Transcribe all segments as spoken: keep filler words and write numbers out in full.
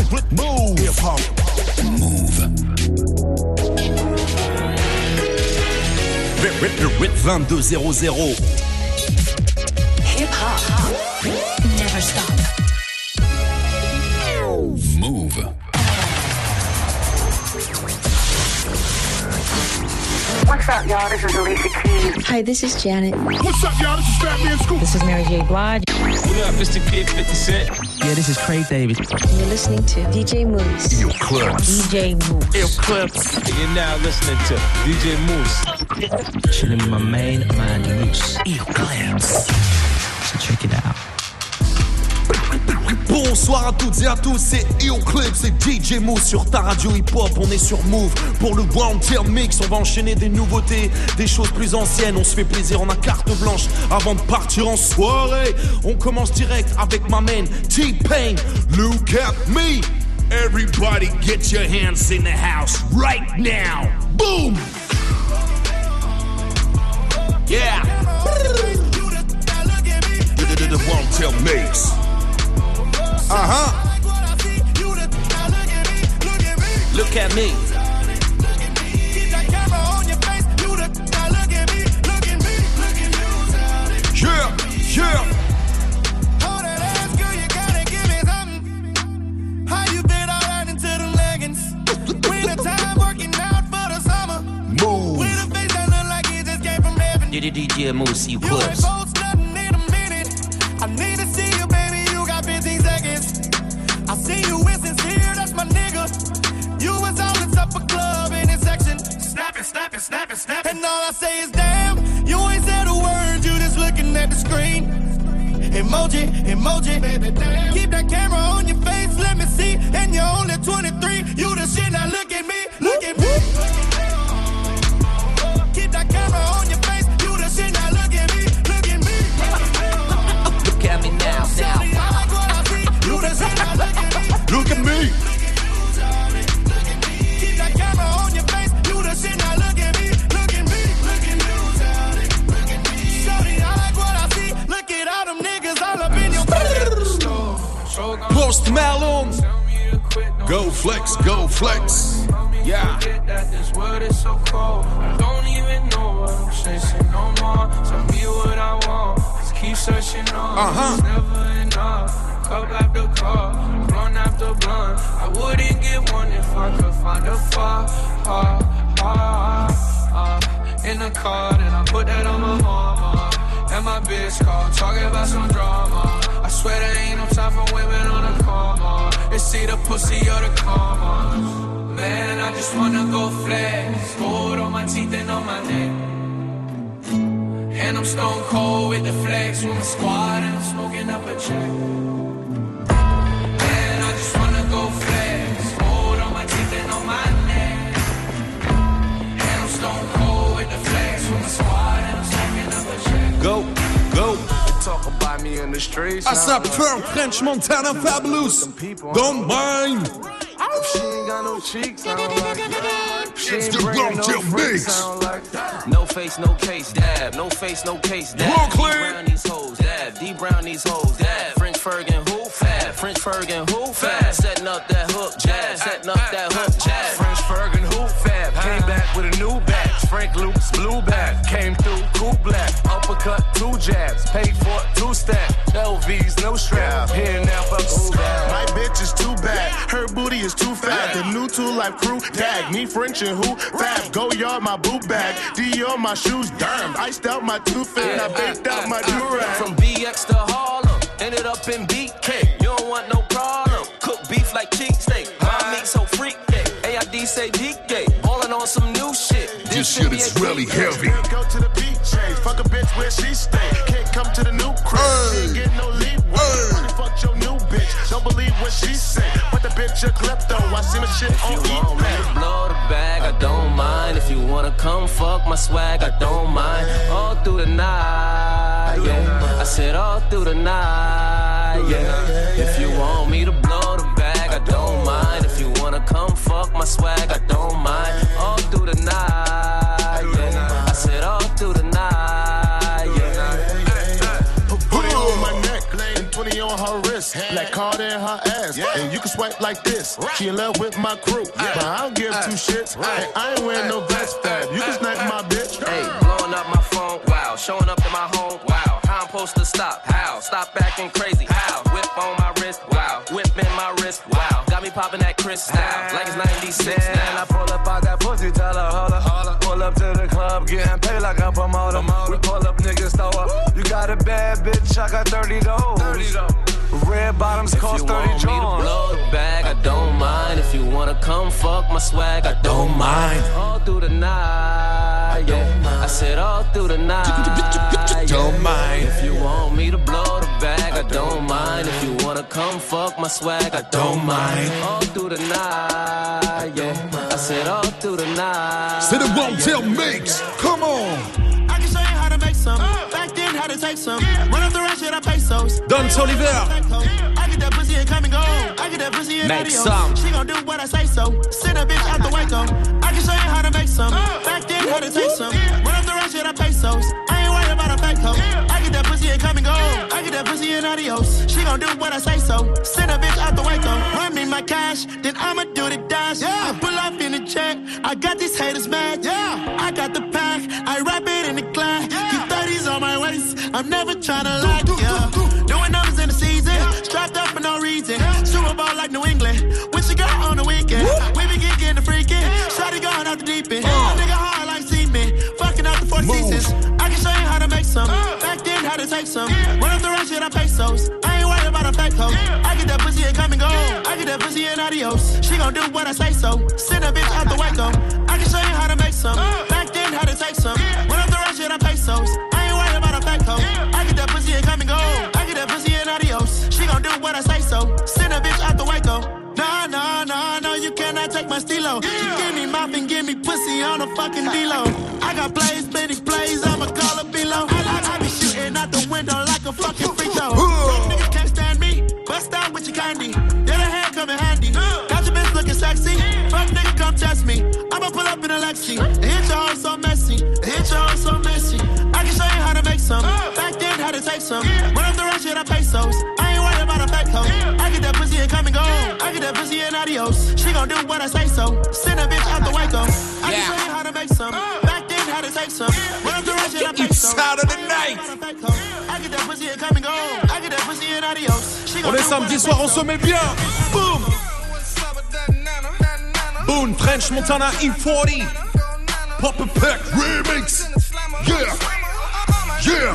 Move. Hip hop. Move. vingt-deux zéro zéro. Hip hop. Never stop. Move. What's up, y'all? This is Alicia Keys. Hi, this is Janet. What's up, y'all? This is Fat Man Scoop. This is Mary J. Blige. What up, Mister Kid fifty Cent? Yeah, this is Craig David. You're listening to D J Moose. Eclipse. D J Moose. Eclipse. And you're now listening to D J Moose. Chilling with my main man, Moose. Eclipse. So check it out. Bonsoir à toutes et à tous, c'est Eclipse, c'est D J Moose sur ta radio hip-hop. On est sur Move pour le One Tier Mix. On va enchaîner des nouveautés, des choses plus anciennes. On se fait plaisir, on a carte blanche avant de partir en soirée. On commence direct avec ma main T-Pain. Look at me. Everybody get your hands in the house right now. Boom. Yeah. The One Tier Mix. Uh-huh. Look at me. Yeah, yeah. Hold that ass, girl, you gotta give me something. How you been all right into the leggings? Winter time working out for the summer. Move. With a face that look like it just came from heaven. D J Moose, You ain't Eclipse. post nothing in a minute. I need to see you, baby, you got fifteen seconds. I see you with sincere, that's my nigga. You was always up a club in this section. Snap it, snap it, snap it, snap it. And all I say is damn, you ain't said a word, you just looking at the screen. Emoji, emoji, baby, damn. Keep that camera on your face, let me see. And you're only twenty-three, you the shit, now look at me, look at me. Keep that camera on your face, you the shit, now look at me, look at me. Look at me now, now. I like what I see, you the shit, now look at me. Look at me. Keep that camera on your face, you the shit, now look at me, look at me, look at me. Shorty, I like what I see, look at all them niggas all up in your face. Post Malone. Go flex, go flex. Yeah. That this world is so cold. I don't even know what I'm chasing no more. Tell me what I want. Just keep searching on. Uh-huh. It's never enough. Cup after cup, blunt after blunt. I wouldn't get one if I could find a far, far, far, uh, in the car, then I put that on my mama. And my bitch called, talking about some drama. I swear there ain't no time for women on the coma. It's either pussy or the karma. Man, I just wanna go flex. Gold on my teeth and on my neck. And I'm stone cold with the flex. With my squad and I'm smoking up a check. Man, I just wanna go flex. Gold on my teeth and on my neck. And I'm stone cold with the flex. With my squad and I'm smoking up a check. Go, go. Talk about me in the streets. I saw Pearl, French Montana, Fabulous. Don't mind. She ain't got no cheeks, I don't like that. She It's ain't the bringing One no Tier freaks, Mix. I don't like that. No face, no case, dab. No face, no case, dab. Brooklyn. D Brown these hoes, dab. D Brown these hoes, dab. French Fergie, who? Fab. French Fergie, who? Fab. Setting up that hook, jab. Setting up that hook, jab. French Fergie, who? Fab. Came back with a new batch. Frank Luke's blue bag. Came through, cool black. Uppercut, two jabs. Paid for two stacks. L V's, no strap. Here now, fuck who bad. My bitch is too bad, her booty is too fat. The new two life crew, tag me French and who? Fab, go yard my boot bag, Dior my shoes, damn. Iced out my tooth and I baked out my durag. From B X to Harlem, ended up in B K. You don't want no problem. Cook beef like cheesesteak. My meat so freak, A I D say D K. Ballin' on some new shit. This shit is really heavy. Go to the beach, fuck a bitch where she stay. Can't come to the new crib, she ain't get no leeway. Fuck your new bitch, don't believe what she say. But the bitch a klepto, I see my shit on If you want me to blow the bag, I don't mind. If you wanna come fuck my swag, I don't mind. All through the night, yeah. I said all through the night, yeah. If you want me to blow the bag, I don't mind. If you wanna come fuck my swag, I don't mind. All through the night, yeah. I said all through the night, yeah. Put it on my neck and twenty on her wrist. Black card in her ass. And you can swipe like this. She in love with my crew, but I don't give two shits. And I ain't wearing no vest, fab. You can snipe my bitch. Hey, blowing up my phone, wow. Showing up in my home, wow. How I'm supposed to stop? How? Stop acting crazy, how? Whip on my wrist, wow. Whip in my wrist, wow. Got me popping that crystal, like it's ninety-six now. And I pull up out that pussy, tell her, hold up. Pull up to the club, getting paid like a promoter. We pull up, niggas throw up. You got a bad bitch, I got thirty those. Red bottoms cost thirty Johns. If you want me to blow the bag, I don't mind. If you wanna come fuck my swag, I don't mind. All through the night, yeah. I said all through the night, don't mind. If you want me to blow the bag, I don't mind. If you wanna come fuck my swag, I don't mind. All through the night, yeah. I said all through the night. C'est le Won't Tell Mix. Come on. I can show you how to make some. Back then, how to take some. Run up the rest, shit, I pay pesos. Don Soliver. I get that pussy and come and go. I get that pussy and make adios. some. She gon' do what I say so. Send a bitch out the Waco. I can show you how to make some. Back then, how to take some. Run up the rest, shit, I pay pesos. I ain't worried about a fake hoe. I get that pussy and come and go. I get that pussy and adios. She gon' do what I say so. Send a bitch out the Waco. Run me my cash, then I'ma do the dash. Yeah. I pull up in the check. I got these haters mad. Yeah. I got the pack. I wrap it in the glass. Yeah. Keep thirties on my waist. I'm never tryna lie. Yeah. Doing numbers in the season. Strapped up for no reason. Super Bowl like New England. With your girl on the weekend. We be getting the freaking. Shawty going out the deep end. Uh. Nigga hard like cement. Fucking out the four seasons. I can show you how to make some. Back then, how to take some. Run up the rest, shit, I pesos. I ain't worried about a fake hoe. I get that pussy and come and go. I get that pussy and adios. She gon' do what I say so. Send a bitch out the Waco. I can show you how to make some. Back then, how to take some. Run up the rest, shit, I pesos. I ain't worried about a fake hoe. I get that pussy and come and go. I get that pussy and adios. She gon' do what I say so. Send a bitch out the Waco. Nah, nah, nah, no, you cannot take my stilo. You give me mouth and give me pussy on a fucking D-Lo. I got plays, many plays, I'ma call it below. I, I, I be shooting out the window like a fucking free throw. Some niggas can't stand me, bust out with your candy. Yeah, the hair come in handy. Got your bitch looking sexy. Fuck nigga, come test me. I'ma pull up in a Lexi. Hit your home so messy. Hit your home so messy. I can show you how to make some. Back then, how to take some. Run up the rest, shit, I pesos. I ain't worried about a fake hoe. I get that pussy and come and go. I get that pussy and adios. She gon' do what I say so. Send a bitch out the Waco. I can show you how to make some. Back then, how to take some. Run up the rest, shit, I pesos. Out of the night. I get that pussy and come and go. I get that pussy and adios. On est samedi soir, on se met bien. Boom. Boom, French Montana E forty. Pop a Pack remix. Yeah. Yeah.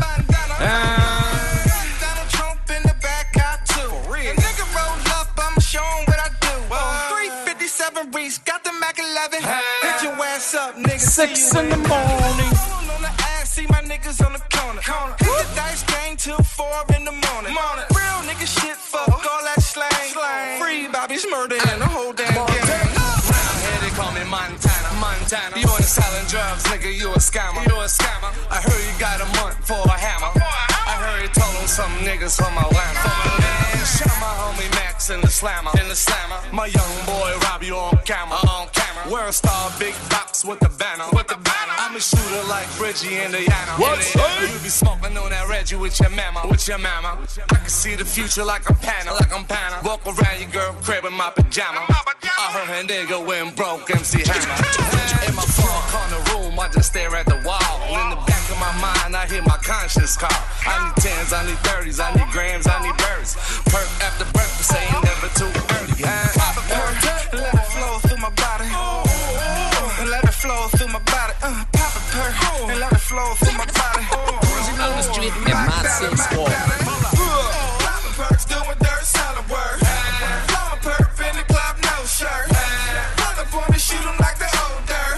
Donald Trump in the back, I too. Nigga roll up, I'ma show him what I do. three fifty-seven Reese, got the Mac eleven. Hit your ass up, nigga. Six in the morning. On the ass, see my niggas on the corner. Hit the dice game till four in the morning. Real nigga shit, fuck all that slang. Free Bobby's murder and the whole damn game. Round here they call me Montana, Montana. You ain't selling drugs, nigga, you a scammer. You a scammer. I heard you got a month for a hammer. I heard you told him some niggas from Atlanta. Shout my homie Max in the slammer, in the slammer. My young boy rob you on camera, on camera. We're a star, big box with the banner, with the banner. I'm a shooter like Bridgie Indiana. What's up? You be smoking on that Reggie with your mama, with your mama. I can see the future like I'm Panna, like I'm Panna. Walk around your girl crib in my pajama. I heard her nigga went broke, M C Hammer. In my four corner room, I just stare at the wall. In the back of my mind, I hear my conscience call. I need tens, I need thirties, I need grams, I need birds. Perk after breakfast, saying never too early. Pop a perk, let it flow through my body. And let it flow through my body. Uh, pop a perk, and let it flow through my body. On the street in my six squad. Pop a perk's doing dirt solid work. Flow a perk in the club, no shirt. Run up on me, shoot him like the old dirt.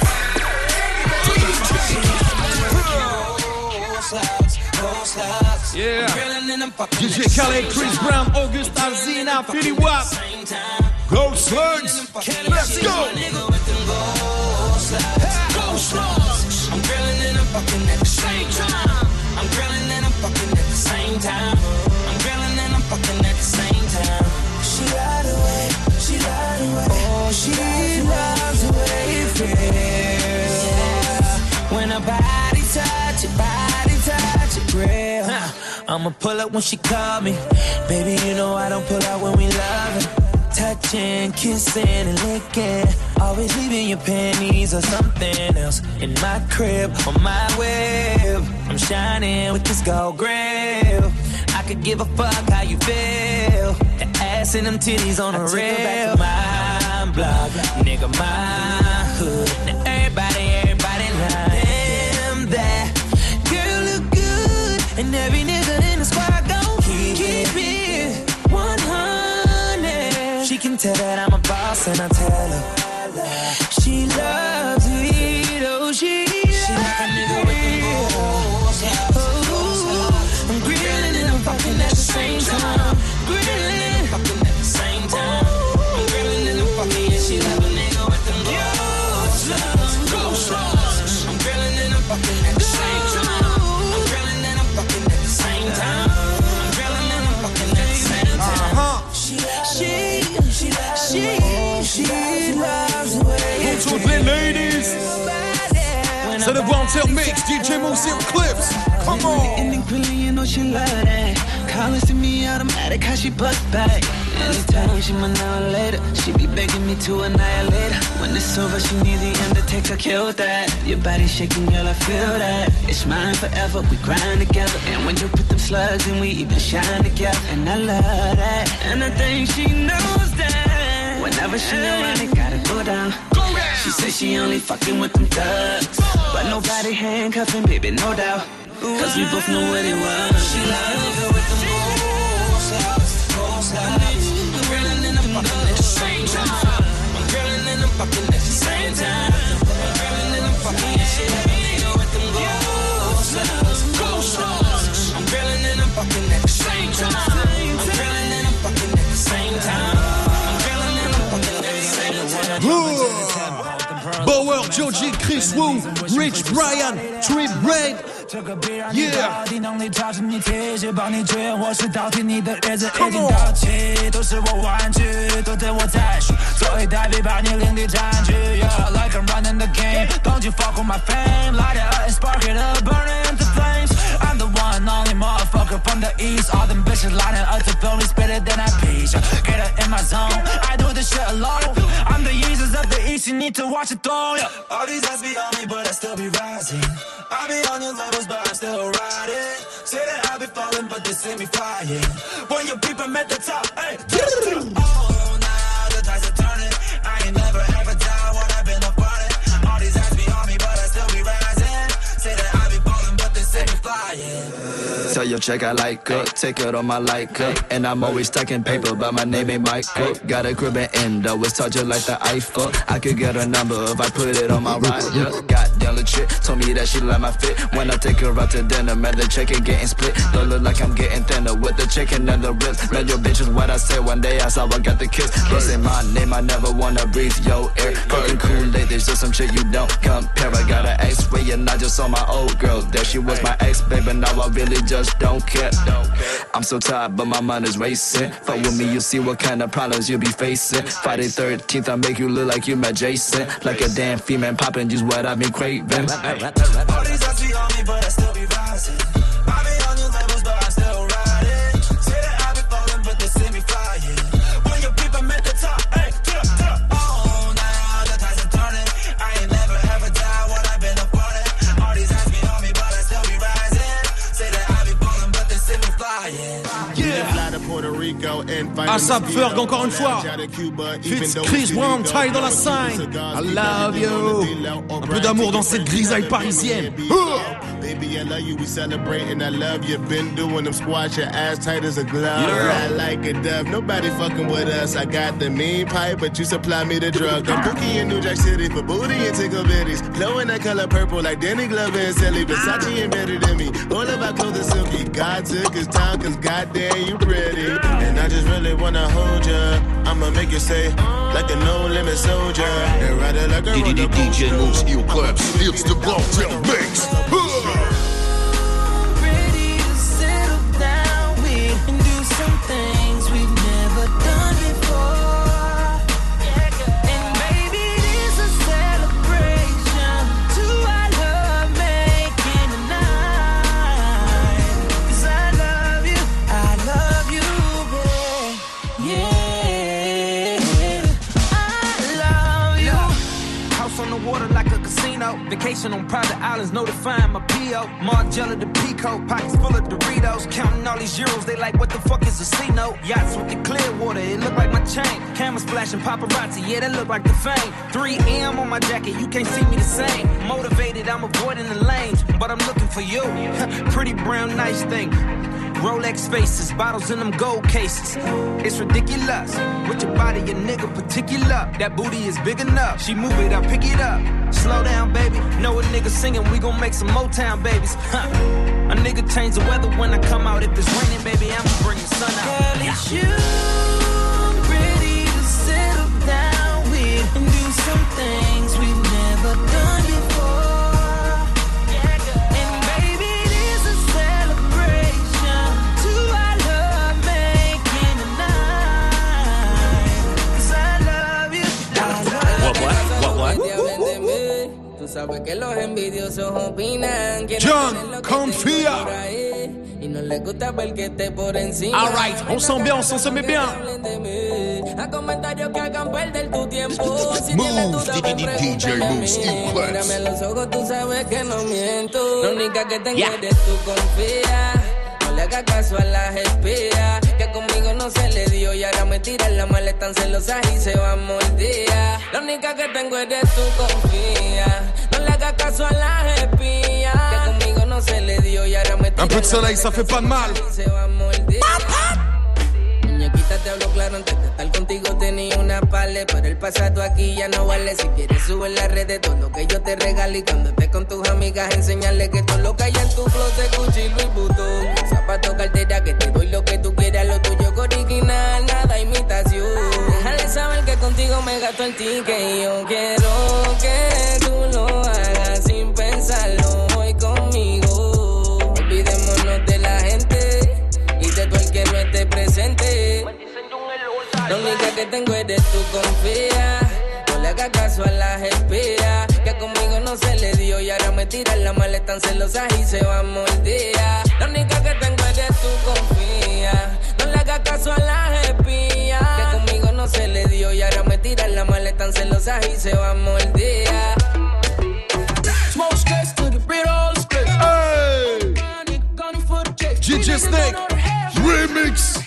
Yeah. D J Khaled, Chris Brown, August Alsina, Philly Wap. Go Slugs. Let's go. Go Slugs. I'm grilling and I'm fucking at the same time. I'm grilling and I'm fucking at the same time. I'm grilling and I'm fucking at the same time. She lied away, she lied away. Oh, she lies away, yeah. When her body touch, your body touch, your grill. I'ma pull up when she call me. Baby, you know I don't pull out when we loving. Touching, kissing, and licking. Always leaving your panties or something else in my crib, on my web. I'm shining with this gold grill. I could give a fuck how you feel. The ass and them titties on the rail. My block, nigga, my hood. Now everybody, everybody lying. Damn, that girl look good. And every nigga in the squad gon' keep, keep it one hundred. She can tell that I'm a boss and I tell her she loves to eat, oh she, she like a nigga with the balls. Oh, I'm grilling and I'm fucking at the same time. Grilling and I'm fucking at the same time. I'm grilling and I'm fucking and she like a nigga with the balls. I'm grilling and I'm fucking at the same time. I'm grilling and I'm fucking at the same time. I'm grilling and I'm fucking at the same time. She, she, she, she loves the way. Toutes les ladies. C'est le Wanted Mix, D J Moose et Clips. Come on. You know she love that. Calling to me automatic, how she bust back. Anytime she my now later, she be begging me to annihilate her. When it's over, she need the Undertaker, kill that. Your body shaking, girl, I feel that. It's mine forever, we grind together. And when you put them slugs in, we even shine together. And I love that, and I think she knows that. Whenever she around, it gotta go down. She says she only fucking with them thugs, but nobody handcuffing, baby, no doubt. Cause we both know what it was. She loves it with the moves, moves, I'm grilling and I'm fucking at the same time. I'm grilling and I'm fucking at the same time. I'm grilling and I'm fucking and she let me go with the moves, I'm grilling and I'm fucking at the same time. I'm grilling and I'm fucking at the same time. I'm grilling and I'm fucking at the same time. Bower, Joji, Chris Wu, Rich Brian, Trip Red. 这个必然你到底能力超出你体质，帮你追或是倒替你的日子已经到期，都是我玩具，都等我再续，做一代币把你领地占据。Yeah, like I'm running the game, don't you fuck with my fame, light it up and spark it up, burn it into flames. I'm the one only motherfucker from the east, all them bitches lining up to feel me, spit it then I peace. Get it in my zone, I do this shit alone. I'm the Jesus of the east, you need to watch it throne. Yeah. All these eyes be on me, but I still be rising. I be on your levels, but I'm still riding. Say that I be falling, but they see me flying. When you peep, I'm at the top. Hey, oh, now the tides are turning. I ain't never ever down when I've been up on it. All these eyes be on me, but I still be rising. Say that I be falling, but they see me flying. Tell your check I like her, take it on my like her. And I'm always stacking paper, but my name ain't Michael. Got a crib in Indo, it's touching like the Eiffel. I could get a number if I put it on my rider. Goddamn legit, told me that she like my fit. When I take her out to dinner, man, the chicken getting split. Don't look like I'm getting thinner with the chicken and the ribs. Man, your bitch is what I said one day, I saw I got the kiss. Can't say my name, I never wanna breathe your air. Fucking Kool-Aid, there's just some shit you don't compare. I got an X-ray and I just saw my old girl there. She was my ex, baby, now I really just don't care. I'm so tired, but my mind is racing. Fuck with me, you see what kind of problems you be facing. Friday thirteenth, I make you look like you met Jason. Like a damn female poppin', just what I've been craving. All these eyes be on me, but I still be rising. I be on your levels, but I'm still riding. Say that I be falling, but they see me flying. When you peep, I'm at the top. Hey, get up, get up. Oh, now the tides are turning. I ain't never ever died when I've been up on it. All these eyes be on me, but I still be rising. Say that I be falling, but they see me flying. ASAP Ferg encore une fois. Fitz Chris Brown, taille dans la scène. I love you. Un peu d'amour dans cette grisaille parisienne. Baby, I love you, we celebrating, I love you. Been doing them squats, your ass tight as a glove. Yeah. Ride like a dove, nobody fucking with us. I got the mean pipe, but you supply me the drug. I'm bookie in New Jack City for booty and tickle bitties. Blowing that color purple like Danny Glover and Silly. Versace embedded in me, all of our clothes are silky. God took his time, cause goddamn you pretty. And I just really wanna hold ya. I'ma make you say, like a no-limit soldier. And ride it like a roller D J Moose, Eel Clips, it's the Wanted Mix. Ready to settle down with and do some things we've never done before. And baby, this a celebration to our love making tonight. 'Cause I love Vacation on private islands, notifying my P O. Margiela the Pico, pockets full of Doritos. Counting all these euros, they like, what the fuck is a C-note? Yachts with the clear water, it look like my chain. Cameras flashing paparazzi, yeah, that look like the fame. three M on my jacket, you can't see me the same. Motivated, I'm avoiding the lanes, but I'm looking for you. Pretty brown, nice thing. Rolex faces, bottles in them gold cases. It's ridiculous. With your body, your nigga particular. That booty is big enough. She move it, I pick it up. Slow down, baby. Know a nigga singing, we gon' make some Motown babies. Huh. A nigga change the weather when I come out. If it's raining, baby, I'ma bring the sun out. Girl, it's you I'm ready to settle down with and do some things we've never done before. Sabes que los envidiosos opinan. John, confía. Y no les gusta ver que esté por encima. Alright, on sent bien, on se met bien. A comentarios que hagan perder tu tiempo. Si Move, D J Move, Steve Clips. Mírame a los ojos, tú sabes que no miento. La única que tengo eres tú, confía. No le hagas caso a las espías. Que conmigo no se le dio y ahora me tiran la maleta tan celosas y se va a morder. La única que tengo eres tú, confía. No le hagas caso a las espías. Que conmigo no se le dio y ahora me tiran Un peu de soleil, ça fait pas de mal. Se va a morder. Muñequita, te hablo claro, antes de estar contigo tenía una pale, pero el pasado aquí ya no vale. Si quieres sube en las redes todo lo que yo te regalo y cuando estés con tus amigas enseñarle que todo lo que hay en tu closet Gucci, Louis Vuitton, zapatos, cartera, que te doy lo que tú quieras, lo tuyo es original, nada imitación. Déjale saber que contigo me gasto el ticket y yo quiero que tú lo hagas sin pensarlo hoy conmigo. Olvidémonos de la gente y de todo el que no esté presente. La única que tengo eres tú, confía. No le hagas caso a las espías. Que conmigo no se le dio y ahora me tiran la maleta tan celosas y se va a morder. La única que tengo eres tú, confía. No le hagas caso a las espías. Que conmigo no se le dio y ahora me tiran la maleta tan celosas y se va a morder. Smoke stress to the bit all the stress. Hey! D J Snake Remix.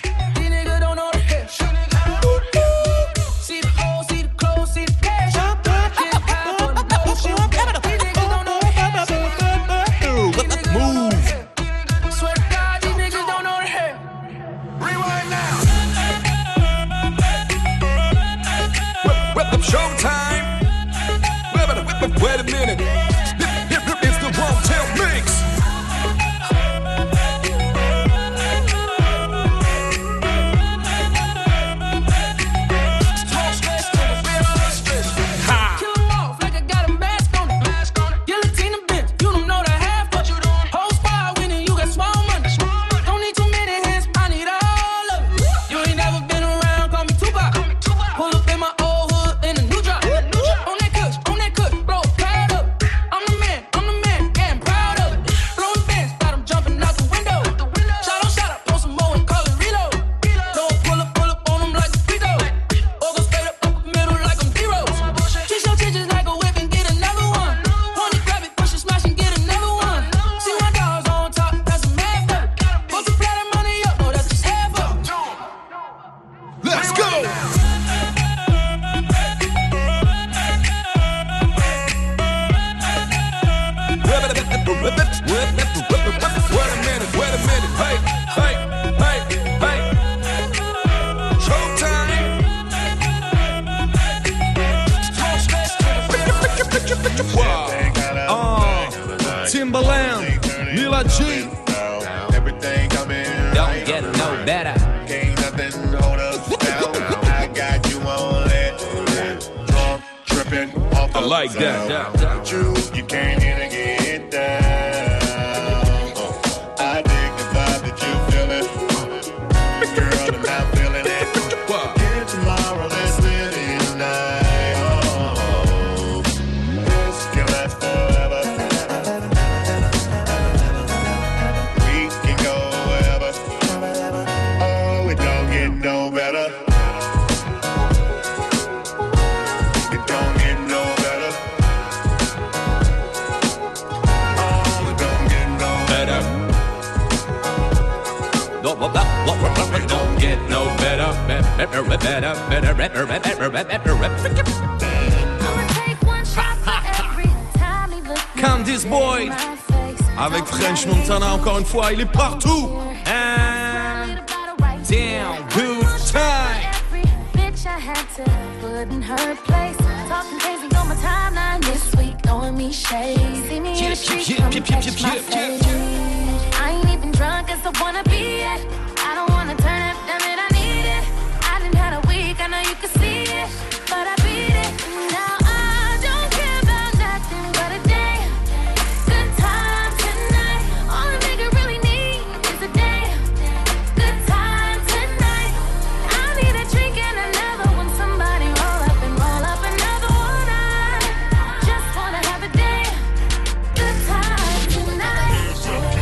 Showtime. Wait a minute. It's the Wrong Tail Mix. Timbaland, Lila G. Everything coming Don't get no better. Can't nothing hold us down. I got you on that. Drunk, tripping off the I like that. Without you, you can't even get down. I dig the vibe that you feeling. Girl, I'm not feeling it. Get tomorrow, let's live it tonight. Oh, this can last forever. We can go wherever. Oh, it don't get no better. It don't get no better. Candice Boyd avec French Montana encore une fois, il est partout. And damn good time. Bitch, I had to put in her place. Talking crazy on my timeline this week, throwing me shade. See me in the street, come catch my fade. I ain't even drunk as I wanna be it. I don't wanna turn it, damn it, I need it. I done had a week, I know you can see it, but I beat it. Now I don't care about nothing but a day. Good time tonight. All a nigga really need is a day. Good time tonight. I need a drink and another one. Somebody roll up and roll up another one. I just wanna have a day. Good time tonight.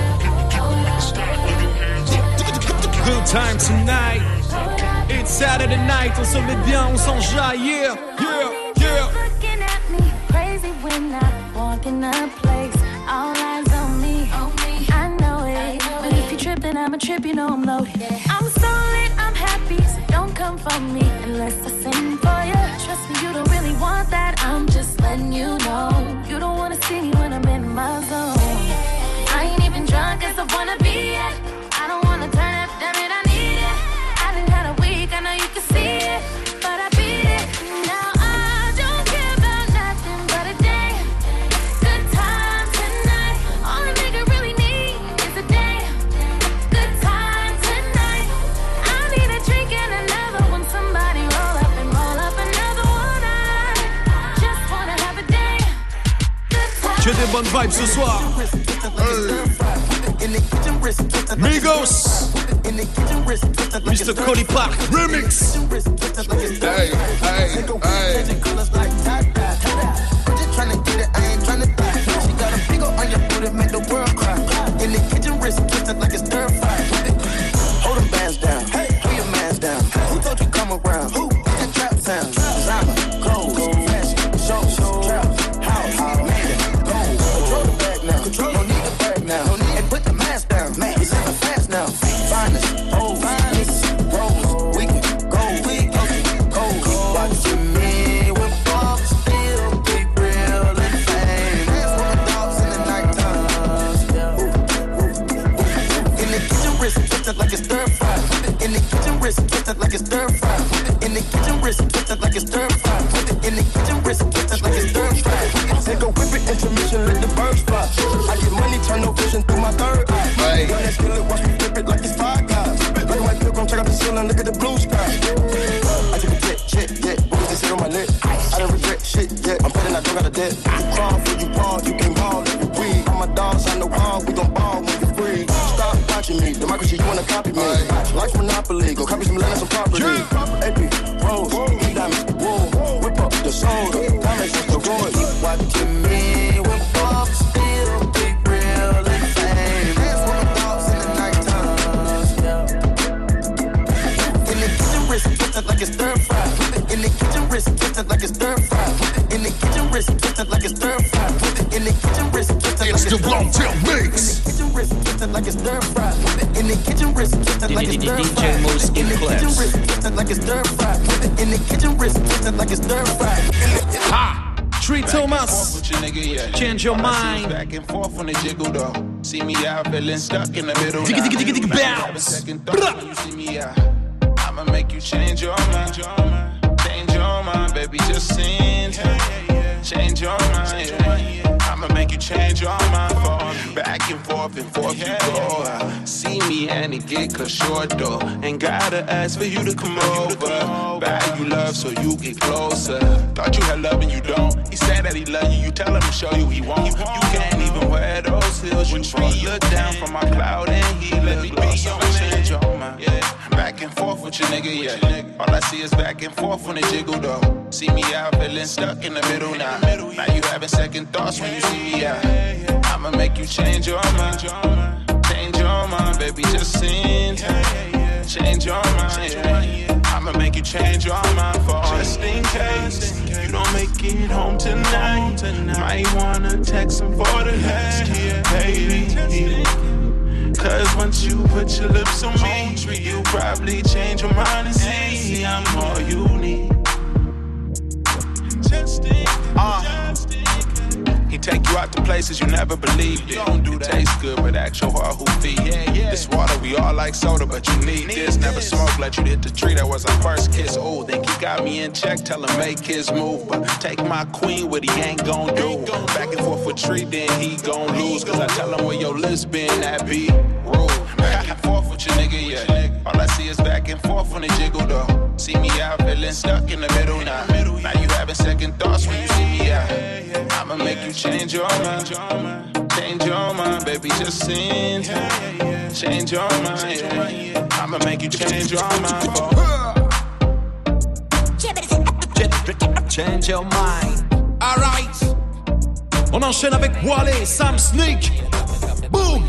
Good time tonight. It's Saturday night, on se met bien, on s'enjaille, yeah, yeah, yeah. Looking at me crazy when I walk in a place. All eyes on me. I know it, but if you trippin', I'm a trip, you know I'm loaded. I'm so lit, I'm happy, so don't come for me unless I sing for you. Trust me, you don't really want that. I'm just letting you know. You don't wanna see me when I'm in my zone. I ain't even drunk as I wanna be yet. I don't wanna turn up, damn it, I need it. I done had a week, I know you can see it, but I beat it. Now I don't care about nothing but a day. Good time tonight. All a nigga really need is a day. Good time tonight. I need a drink and another one. Somebody roll up and roll up another one. I just wanna have a day. Good time. J'ai des bonnes vibes ce soir. Migos, Mister Cody Park Remix. Hey, hey, hey. Tryna get it, I ain't tryna die. She got a big ol' on your booty, make the world cry. In the kitchen, wrist twisted like it's stir fry. Hold them bands down, hey, pull your mans down. Who told you come around? Who? That trap sound. Designer, clothes, fashion, shows, trap, house, made it, gold. Control the bag now, control, no need to brag now. No need, and put the mask down, man, it's never fast now. Finest, oh, finest, rose, we can go, we go, go. Watching me with Bob still be real and fame. That's what my dogs in the nighttime. In the kitchen, wrist twisted like it's stir fry. In the kitchen, wrist twisted like it's stir fry. In the kitchen, wrist twisted like it's stir fry. In the kitchen, wrist twisted like it's stir fry. Take a whip it, intermission, let the birds fly. I get money, turn no vision through my third eye. Right. Young that kill it, watch me flip it like it's five guys. Like white pilgrim, check out the ceiling, look at the blue sky. I took a jet, jet, jet, what is this on my lip? I don't regret shit yet, I'm betting I don't got a debt. You crawl for you ball, you can ball if you breathe. All my dogs on the wall, we gon' ball when you free. Stop watching me, democracy, you wanna copy me. Life's monopoly, go copy some land and some property. A P, Rose, E diamonds, wool, whip up the soda, diamonds is the road. Keep watching me when Bob still be real and fame. That's what my dogs in the nighttime. In the kitchen, wrist twisted like it's stir fry. In the kitchen, wrist twisted like it's stir fry. In the kitchen, wrist twisted like it's stir fry. In the kitchen, wrist twisted like it's stir fry. It's the Blonde Mix. In the kitchen, wrist twisted like it's stir fry. In the kitchen, wrist twisted like it's stir fry. In the kitchen, wrist twisted like it's stir fry. In the kitchen, wrist twisted like it's stir fry. Ha! Tree Thomas, change your mind. Back and forth on the jiggle though. See me out feeling stuck in the middle. Digga, digga, digga, digga, bounce. Second thought when you see me out. I'ma make you change your mind. Change your mind, baby, just sing. Change your mind. I'ma make you change your mind for me. Back and forth and forth you go. See me and it get cut short though. Ain't gotta ask for you to come over. Bag you love so you get closer. Thought you had love and you don't. He said that he love you, you tell him to show you he won't. You can't even wear those heels. You both look down from my cloud and he let me be your change your mind. Back and forth with your nigga, yeah. All I see is back and forth on the jiggle though. See me out feeling stuck in the middle now. Now you having second thoughts when you see me out. I'ma make you change your mind. Change your mind, baby, just sing. Change your mind. I'ma make you change your mind for just in case you don't make it home tonight. Might wanna text him for the next year, baby. Cause once you put your lips on me, you probably change your mind and see I'm all you need. Uh, he take you out to places you never believed in. Don't do it that. Tastes good, but ask your heart who feed. Yeah, yeah. This water, we all like soda, but you need, need this. this. Never smoke, let you hit the tree. That was our first kiss. Oh, think he got me in check. Tell him make his move, but take my queen, what he ain't gon' do. Back and forth with tree, then he gon' lose. Cause I tell him where your list been, that be rude. Back and forth with your nigga, yeah. All I see is back and forth when they jiggle though. See me out feeling stuck in the middle now. Now you having second thoughts when you see me out. I'ma make you change your mind. Change your mind, baby, just sin. Change your mind, yeah. I'ma make you change your mind. Change your mind. Alright. On enchaîne avec Wale, Sam Sneak. Boom.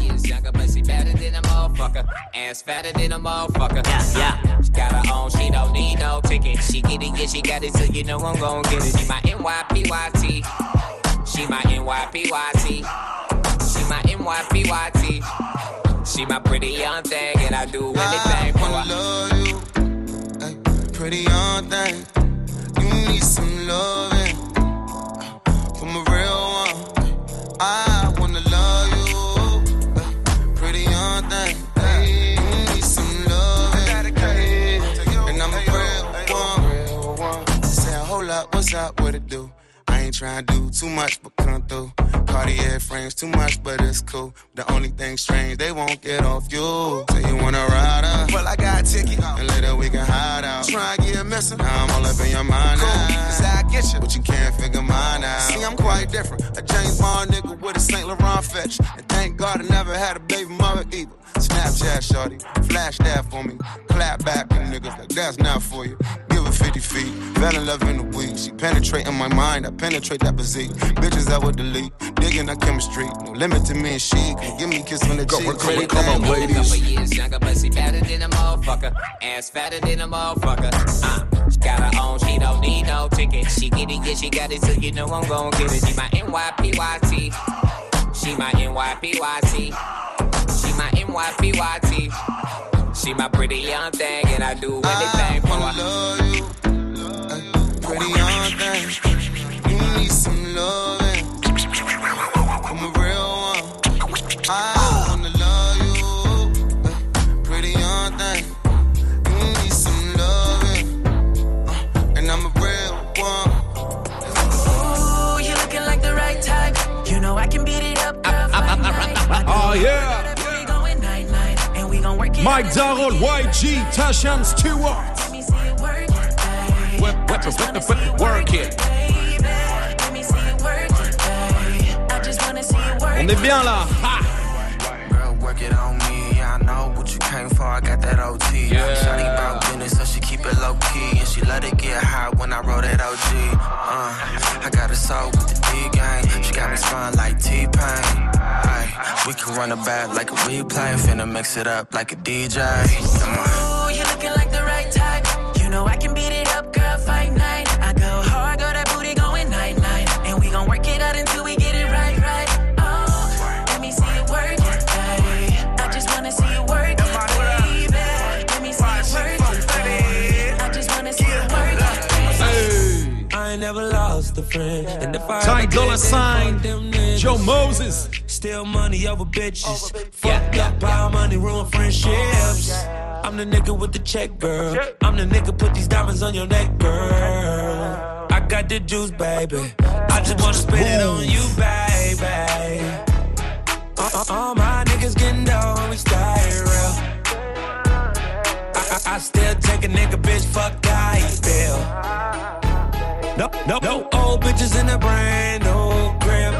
Ass fatter than a motherfucker. Yeah, yeah. She got her own, she don't need no ticket. She get it, yeah, she got it, so you know I'm gon' get it. She my N Y P Y T. She my N Y P Y T. She my N Y P Y T. She my pretty young thing, and I do anything for her. I love you, ay, pretty young thing. You need some loving from a real one. I wanna love you. What's up, what it do? I ain't tryna do too much, but come through. Cartier frames too much, but it's cool. The only thing strange, they won't get off you. Say you wanna ride up? Well, I got a ticket, and later we can hide out. Try and get missing, now I'm all up in your mind now. Cause I get you, but you can't figure mine out. See, I'm quite different, a James Bond nigga with a Saint Laurent fetch. And thank God I never had a baby mother either. Snapchat shorty, flash that for me. Clap back and niggas like that's not for you. Give her fifty feet, fell in love in the week. She penetrating my mind, I penetrate that physique. Bitches I would delete, digging our chemistry. No limit to me and she, can give me a kiss on the cheek. Come, come on, ladies. Couple years younger, but she fatter than a motherfucker. Ass fatter than a motherfucker. Uh, she got her own, she don't need no ticket. She get it, yeah, she got it, so you know I'm gon' get it. She my N Y P Y T. She my N Y P Y T. She my N Y P Y T. She my pretty young thing, and I do anything for her. I love you, ay, pretty young thing. You need some loving from a real one. I wanna love you, ay, pretty young thing. You need some loving, uh, and I'm a real one. Ooh, you looking like the right type. You know I can beat it up, girl. Oh yeah. Mike Darrell, Y G, Tashan Stewart. Work, work, work, work, work it. On est bien là. Ha. Girl, work it on me. I know what you came for. I got that O T. Yeah. Shawty about business, so she keep it low key, and she let it get hot when I roll that O G. Uh, I got a soul with the D game. She got me spun like T-Pain. We can run it back like a replay, finna mix it up like a D J. Come on. Ooh, you looking like the right type. You know I can beat it up, girl, fight night. I go hard, got that booty going night night, and we gon' work it out until we get it right, right. Oh, let me see you work it, baby. I just wanna see you work it, baby. Let me see you work it, baby. I just wanna see you work it, baby. I ain't never lost a friend, and if I Ty Dolla Sign, Joe Moses. Steal money over bitches. Fucked up power money, ruin friendships. I'm the nigga with the check, girl. I'm the nigga put these diamonds on your neck, girl. I got the juice, baby. I just wanna spend it on you, baby. All, all my niggas getting down, we stay real. I, I, I still take a nigga, bitch, fuck how you feel. No, no, no old bitches in the brand new crib.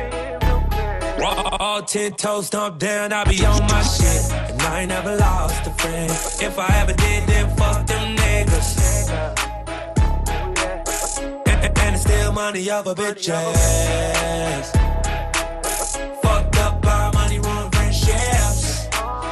All ten toes stomped down, I be on my shit. And I ain't never lost a friend. If I ever did, then fuck them niggas. And, and, and it's still money over bitches. Fucked up by money, ruin friendships.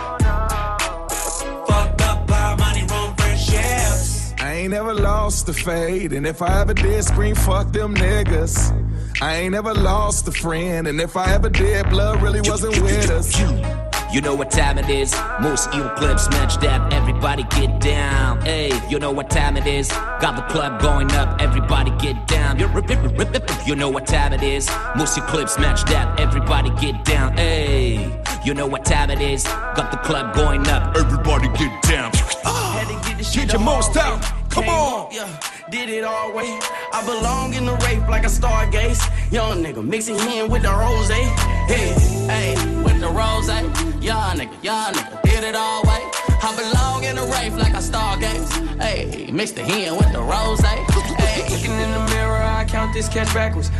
Fucked up by money, ruin friendships. I ain't never lost a fade. And if I ever did, scream fuck them niggas. I ain't ever lost a friend, and if I ever did, blood really wasn't with us. you know what time it is. Most Eel Clips, match that, everybody get down. Hey, you know what time it is. Got the club going up, everybody get down. You know what time it is. Most Eel Clips, match that, everybody get down. Hey, you know what time it is. Got the club going up, everybody get down. Get your most out, come on. Yeah, did it all way. I belong in the rape like a stargaze. Young nigga mixing in with the rose. Hey, hey, with the rose. Young nigga, young nigga, did it all way. I belong in the rape like a stargaze. Hey, mix the hen with the rose. Hey, looking in the mirror, I count this cash backwards.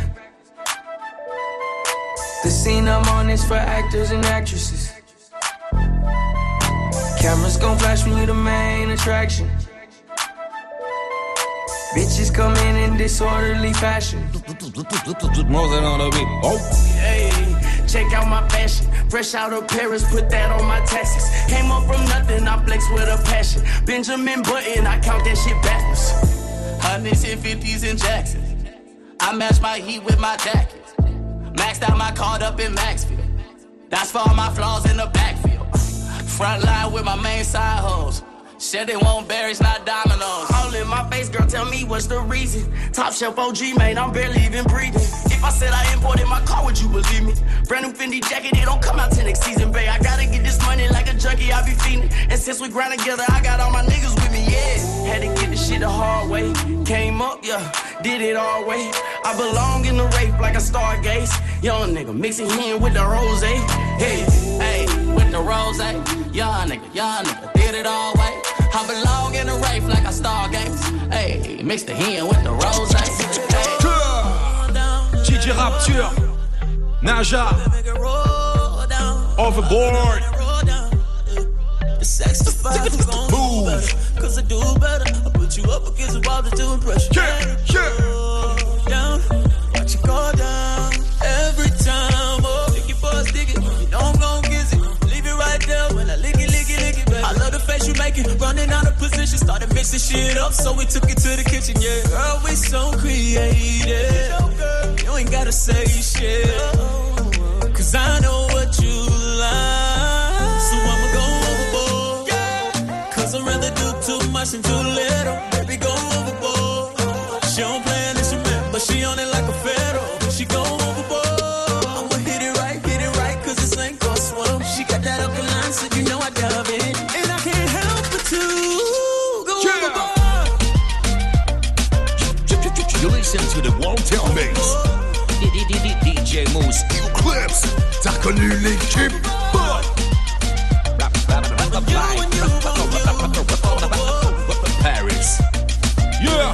The scene I'm on is for actors and actresses. Cameras gon' flash when you the main attraction. Bitches come in in disorderly fashion. More than on the beat. Oh. Hey, check out my fashion. Fresh out of Paris, put that on my taxes. Came up from nothing, I flex with a passion. Benjamin Button, I count that shit backwards. Hundreds and fifties in Jackson. I match my heat with my jacket. Maxed out my card up in Maxfield. That's for all my flaws in the backfield. Front line with my main side hoes. Shit, they want berries, not dominoes. All in my face, girl, tell me what's the reason. Top shelf O G, man, I'm barely even breathing. If I said I imported my car, would you believe me? Brand new Fendi jacket, it don't come out till next season, babe. I gotta get this money like a junkie, I be feeding. And since we grind together, I got all my niggas with me, yeah. Had to get this shit the hard way. Came up, yeah, did it all way. I belong in the rape like a stargaze. Young nigga mixing in with the rose. Hey, hey, with the rose. Young nigga, young nigga, did it all way. I belong in the rape like a stargaze. Hey, mix the hen with the rose. Hey. D J Rapture, Naja, Overboard. The sex to five is gon' do better. Cause I do better. I put you up against the wall to do impression. Yeah, yeah. Down, watch you go down. Every time, oh, stick it for a stick it. You know I'm gon' kiss it. Leave it right there when I lick it, lick it, lick it, baby. I love the face you making. Running out of position, started mixing shit up. So we took it to the kitchen, yeah. Girl, we so creative. You ain't gotta say shit. Cause I know what you like. So I'ma go overboard. Cause I'd rather do too much than too little. Baby, go overboard. She don't play an instrument, but she on it like a fiddle. She go overboard. I'ma hit it right, hit it right, cause this ain't gon' swim. She got that alkaline, so you know I love it. And I can't help but to go overboard. You listen to the One-Tail Mix. D J Mousse. Eel Clips, t'as connu l'équipe. Paris. Yeah.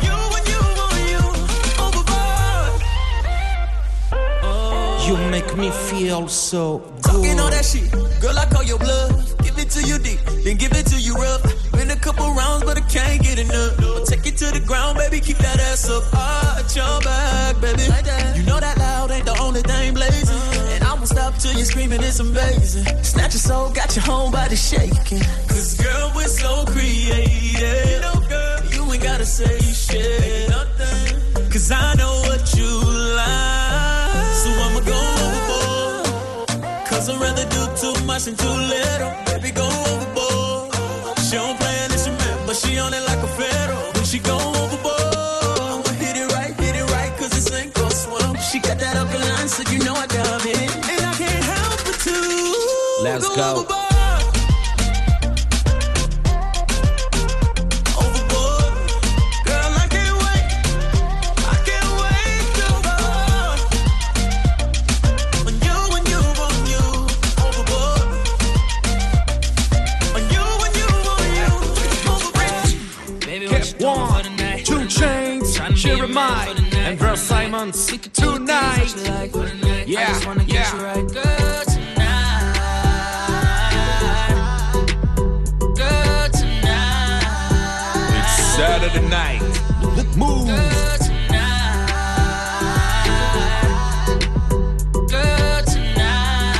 You make me feel so good. Talking all that shit, girl, I call your bluff. Give it to you deep, then give it to you rough. Been a couple rounds, but I can't get enough. I'll take it to the ground, baby, keep that ass up. Arch your back, baby. You know that loud ain't the only thing blazing. And I won't stop till you're screaming, it's amazing. Snatch your soul, got your whole body shaking. Cause girl, we're so creative. You know, girl, you ain't gotta say shit. Nothing. Cause I know what you like. So I'ma go overboard. Cause I'd rather do too much than too little. Baby, go overboard. She don't play an instrument, but she on it like a fiddle. When she go overboard, I'ma hit it right, hit it right, cause this ain't gon' swim. She got that alkaline, so you know I love it. And I can't help but to Let's go. go overboard. Jeremiah and Verse Simons tonight. Yeah, yeah. Good tonight. Good tonight. It's Saturday night. Move. Good tonight. Good tonight.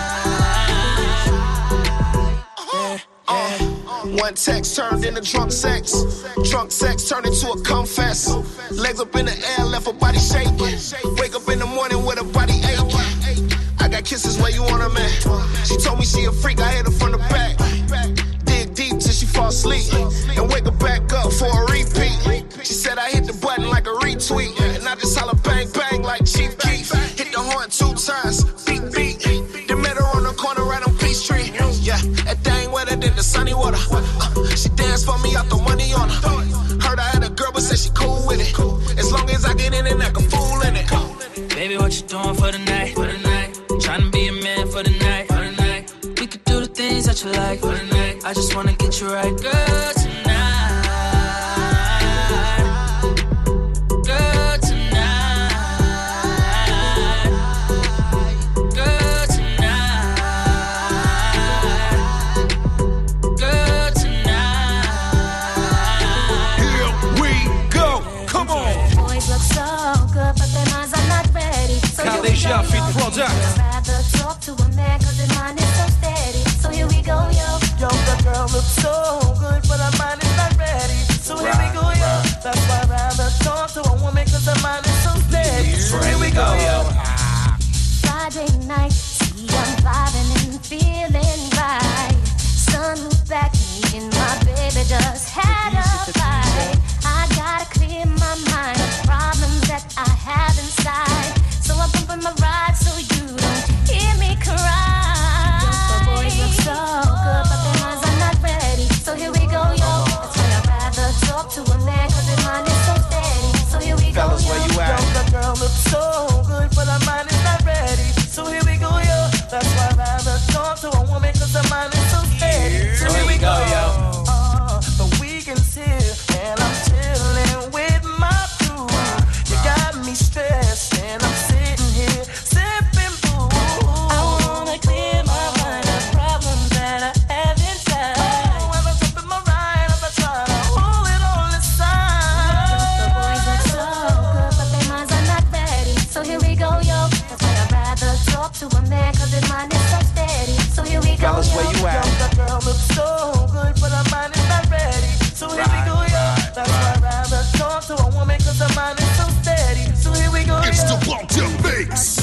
Yeah, yeah. One text turned into drunk sex. Drunk sex turned into a confess. Legs up in the air, left her body shaking. Wake up in the morning with her body aching. I got like kisses where you want 'em at. She told me she a freak, I hit her from the back. Dig deep till she fall asleep and wake her back up for a repeat. She said I hit the button like a retweet, and I just holler bang bang like Chief Keef. Hit the horn two times, beat beat. Then met her on the corner right on Peachtree. Yeah, that thing wetter than the sunny water. Uh, she danced for me, I throw money on her. Heard I had a girl, but said she cool with it. As long as I get in and act a fool in it. Baby, what you doing for the night? For the night. Tryna be a man for the night. For the night. We could do the things that you like for the night. I just wanna get you right, girl, tonight. Girl, tonight. Girl, tonight. Girl, tonight. Here we go. Come on. Boys look so good, but their minds are not ready. So here we Kalisha go, Fit yo. Product. I'd rather talk to a man, cause his mind is so steady. So here we go, yo. Yo, the girl looks so good, but her mind is not ready. So here we go, yo. That's why I'd rather talk to a woman, cause her mind is so steady. So here we go, yo. Friday night, see I'm vibing and feeling right. Sun moved back, me and my baby just had a fight. I gotta clear my mind of problems that I have inside. So I'm pumping my ride so you don't hear me cry. The boys look so good, but their minds are not ready. So here we go, yo. That's why I'd rather talk to a man, cause his mind is so steady. So here we go, Fellas, yo. where you at? Yo, the girl looks so good, but her mind is not ready. So here we go, yo. That's why I'd rather talk to a woman, cause her mind is so steady. So here we go, yo. Uh, the weekend's here, and I'm chilling with my crew. You got me stressed, and I'm sitting here sipping boo. I wanna clear my mind of problems that I have inside. Oh, and I'm tripping my ride as I try to hold it all inside. The boys look so good, but their minds are not ready. So here we go, yo. That's why I'd rather talk to a man, cause his mind is so steady. So here we go, Fellas, yo. where you at? Yo, the girl looks so good, but her mind is not ready. So here we go, yo. That's why I'd rather talk to a woman, cause her mind is so steady. So here we go, It's the yo. Walter Mix.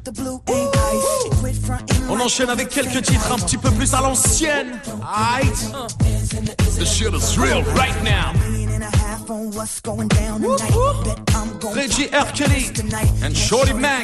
On enchaîne avec quelques titres un petit peu plus à l'ancienne. Aight. The shit is real right now. Reggie R. Kelly and Shorty Mac.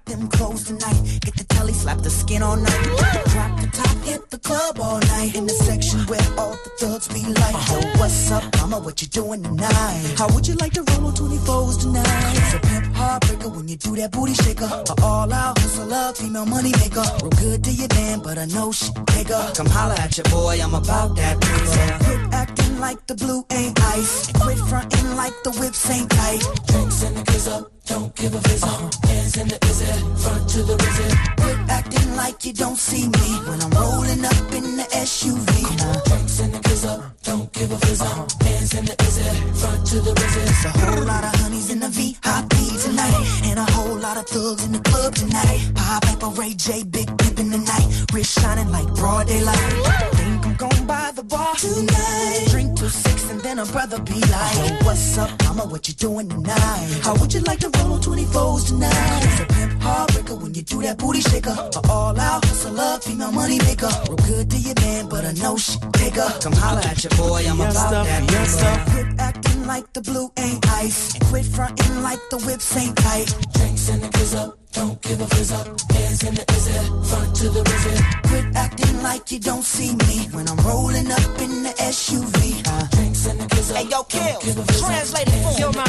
Get the telly, slap the skin all night. Drop the top, hit the club all night. In the section where all the thugs be like, yo, what's up, mama, what you doing tonight? How would you like to roll on twenty-fours tonight? It's a pimp heartbreaker when you do that booty shaker. A all out hustler, female money maker. Real good to your damn, but I know she bigger. Come holla at your boy, I'm about that paper. Quit acting like the blue ain't ice. And quit fronting like the whips ain't tight. Drinks and the kiss up, don't give a fizz uh-huh. Hands in the izzy, front to the rizzy. Quit acting like you don't see me when I'm rolling up in the S U V. Uh, drinks and the kiss up, don't give a fizz uh-huh. Hands in the izzy, front to the rizzy. It's a whole lot of honeys in the V I P tonight, and a whole lot of thugs in the club tonight. Pop Piper, Ray J, Big Pimp in the night. Wrist shining like broad daylight. Think I'm gon' buy the bar tonight. Drink till six and then a brother be like, hey, what's up, mama, what you doing tonight? How would you like to roll on twenty-fours tonight? It's a pimp heartbreaker when you do that booty shaker. A all out hustler, female money maker. Real good to your man, but I know she bigger. Come holla at your boy, I'm Yes, about stuff, that yes, paper. stuff. Quit acting like the blue ain't ice, and quit fronting like the whips ain't tight. Drinks and the kiss up, don't give a fizz up. Hands in the izzy, front to the rizzy. Quit acting like you don't see me when I'm rolling up in the S U V. Uh, drinks and the kiss up. Hey, yo, Kill, translate it for yo, man.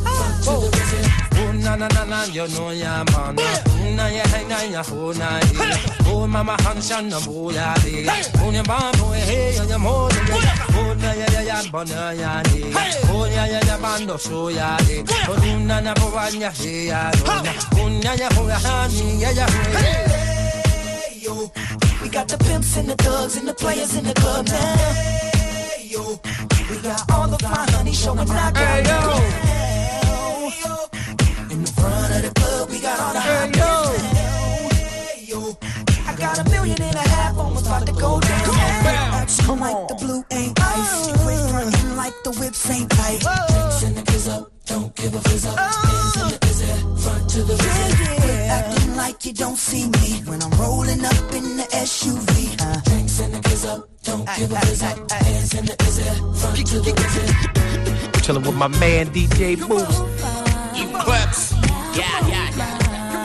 Oh, na na na na, you know ya man. Na ya na ya ho na. Oh, mama hanshan na boya de. Oh, ya ba boy hey, ya mo de. Oh, na ya ya ya bona ya de. Oh, ya ya ya bando so ya de. Oh, na na bo ya he ya. Oh, na ya ho ya ni ya ya. Hey, yo, we got the pimps and the thugs and the players in the club now. Hey, yo, we got all the fine honey showing out. Hey, yo. Hey, yo. In the front of the club, we got all the hot girls. Hey, yo, I got a million and a half, almost about to go down. Come on, like the blue ain't ice. You quit frontin' like the whips ain't tight. Drinks and the kiss up, don't give a fizz up. Hands in the izzy, front to the rizzy. Quit acting like you don't see me when I'm rolling up in the S U V. Uh, Drinks and the kids up, don't give a fizz up. Hands in the is it, front to the wizard. Chilling with my man D J Moose. You clips. Yeah, yeah, yeah.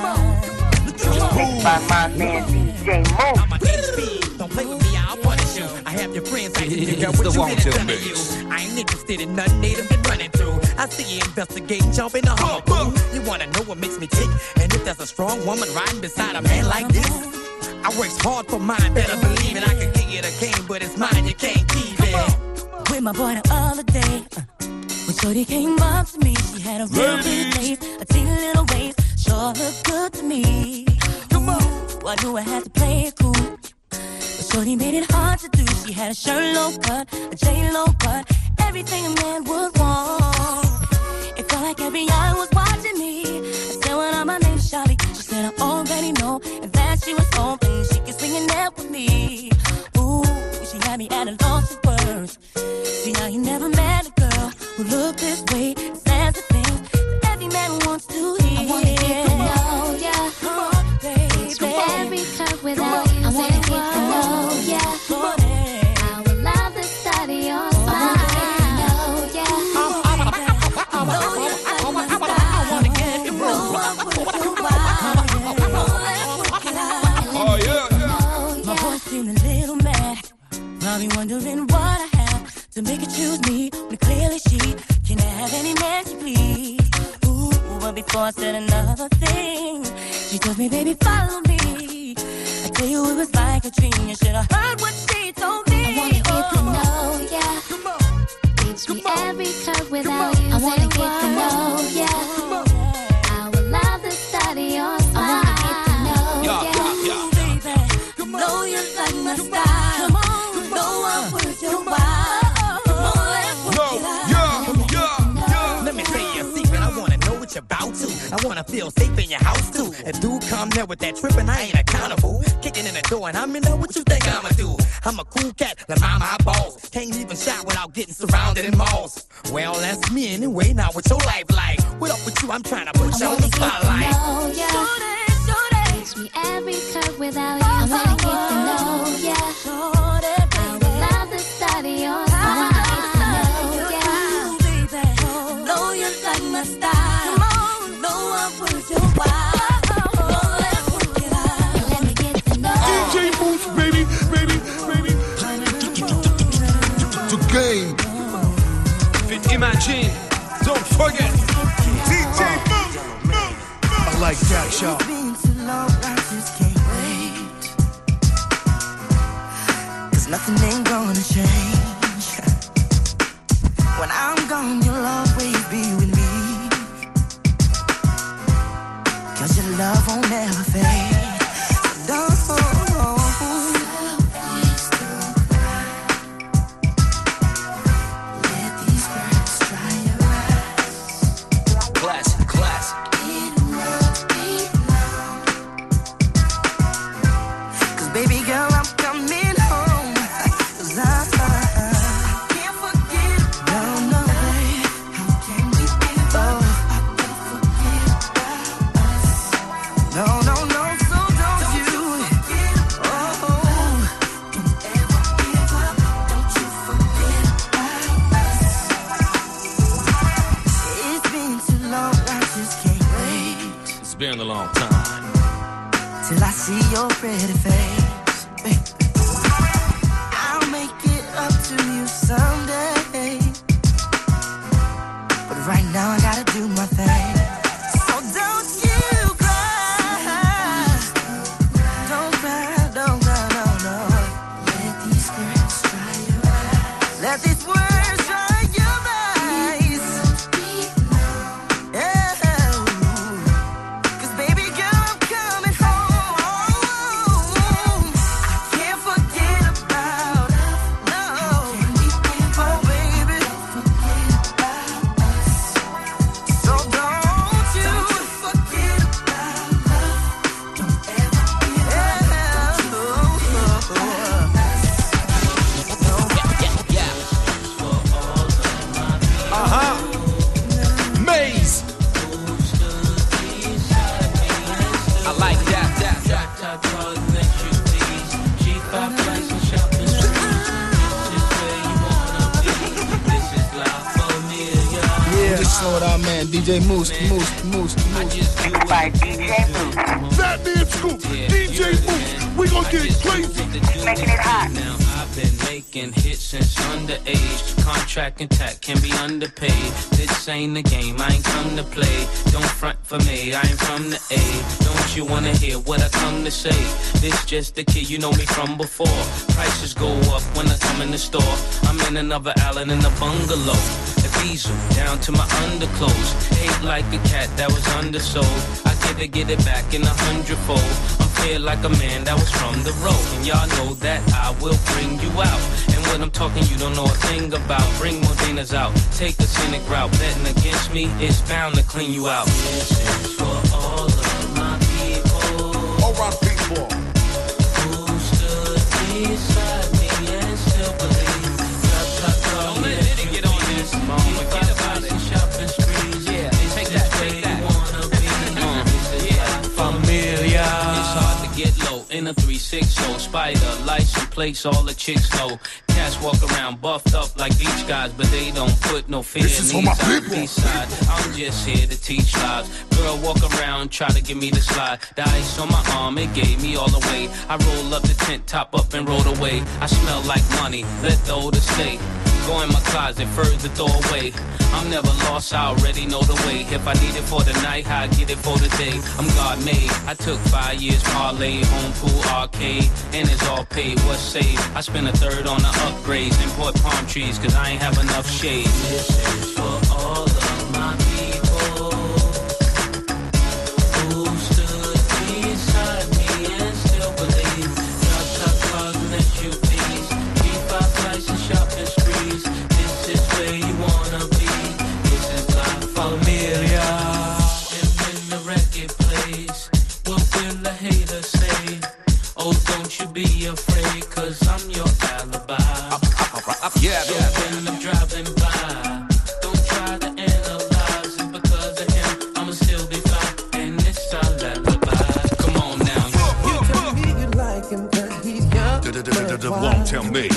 By my man D J Moose. I'm a H P. Don't play with me, I'll punish you. I have your friends like you, girl, what you did done to you. I ain't interested in nothing they done been running through. I see you investigating, jump in the hall. You wanna know what makes me tick? And if there's a strong woman riding beside a man like this, I works hard for mine, better believe it. I can give you the game, but it's mine, you can't keep it. With my boy the other day, uh, when shorty came up to me, she had a real good face, a teeny little waist, sure looked good to me. Come on, I knew I had to play it cool, but shorty made it hard to do. She had a shirt low cut, a J-Lo cut, everything a man would want. It felt like every eye was watching me. I said, what up, my name's Charlie. She said, I already know, and that she was hoping she could swing a nap with me. Ooh, she had me at a loss of words. See, I ain't never met a girl who looked this way, says the things that every man wants to hear. I wanna get to know ya. Come on, baby. Every curve without you. I wanna get to know ya. I would love to study your smile. Probably wondering what I have to make her choose me, when clearly she can have any man she please. Ooh, but before I said another thing, she told me, baby, follow me. I tell you, it was like a dream. You should have heard what she told me. I wanna get oh. to know ya. Come on. Reach me every curve without you. I wanna get to know ya. I would love to study your smile. I wanna get to know ya. Yeah, yeah, yeah. Baby, know you like my style. Come on. Let me tell you a secret, I wanna know what you're about to. I wanna feel safe in your house too. If dude come there with that trippin', I ain't accountable. Kicking in the door and I'm in there, what you think I'ma do? I'm a cool cat, like mama, I balls. Can't even shot without getting surrounded in malls. Well, that's me anyway, now what's your life like? What up with you, I'm trying to put you on the spotlight. Reach me every curve without you. I wanna get to know ya. I would love to study your smile. I wanna get to know ya. Know you like my style. Come on, know I'm worth your while. Let's work it out. Let me get to know D J Moose, baby, baby, baby. The game. Fit Imagine, don't forget. D J Moose, I like that, y'all. I just can't wait. Cause nothing ain't gonna change. When I'm gone, you'll always be with me. Cause your love won't ever fade. Don't. Let these birds dry your eyes. Classic, classic. Baby girl, I'm coming home. Cause I, I can't forget. No, no way. How can we give up? I can't forget about us. No, no, no, so don't, don't you. you oh, don't ever give up. Don't you forget about us. It's been too long, I just can't wait. It's been a long time. Till I see your pretty face. I'll make it up to you someday. But right now I gotta do my thing. So don't you cry. Don't cry, don't cry, no, no. Let these words dry your eyes. Let these words dry your eyes. Yeah. Cause baby girl, I'm coming home. I can't forget about us. No. Oh baby, so don't. y'all man, D J Moose, Moose, Moose, Moose. By D J Moose. That man Scoop, D J Moose. We gon' get it crazy. Making it hot. Now I've been making hits since underage. Contract intact, can be underpaid. This ain't the game, I ain't come to play. Don't front for me, I ain't from the A. Don't you wanna hear what I come to say? This just the kid, you know me from before. Prices go up when I come in the store. I'm in another island in a bungalow. A diesel down to my underclothes. Ate like a cat that was undersold. I get it, get it back in a hundredfold. I'm feel like a man that was from the road. And y'all know that I will bring you out. And when I'm talking, you don't know a thing about. Bring Modenas out, take the scenic route. Betting against me, it's bound to clean you out. This is for all of my people. All right, people. Who stood beside me and still believe. Don't let it get on this. Forget about it. Shopping sprees. Yeah, take that, take that. Familia. It's hard to get low in a three six zero. Spider, license plates, all the chicks know. Cats walk around buffed up like beach guys, but they don't put no fear this in is these for my people. side. I'm just here to teach lives. Girl walk around, try to give me the slide. The ice on my arm, it gave me all the way. I roll up the tent, top up and roll away. I smell like money, let the odor stay. Go in my closet, further doorway. I'm never lost, I already know the way. If I need it for the night, I get it for the day. I'm God made. I took five years parlay, home pool arcade, and it's all paid. What's saved? I spent a third on the upgrades, import palm trees, cause I ain't have enough shade. This is for all of my people who stood beside me and still believe. Drop top cars and S U Vs, keep our prices, shopping sprees. This is where you wanna be. This is La Familia. And when the record plays, what will the haters say? Oh, don't you be afraid, cause I'm your alibi. Yeah, so when I'm driving by, don't try to analyze it. Because of him, I'ma still be fine. And it's our alibi. Come on now. You tell me you like him cause he's young. The long-term mix.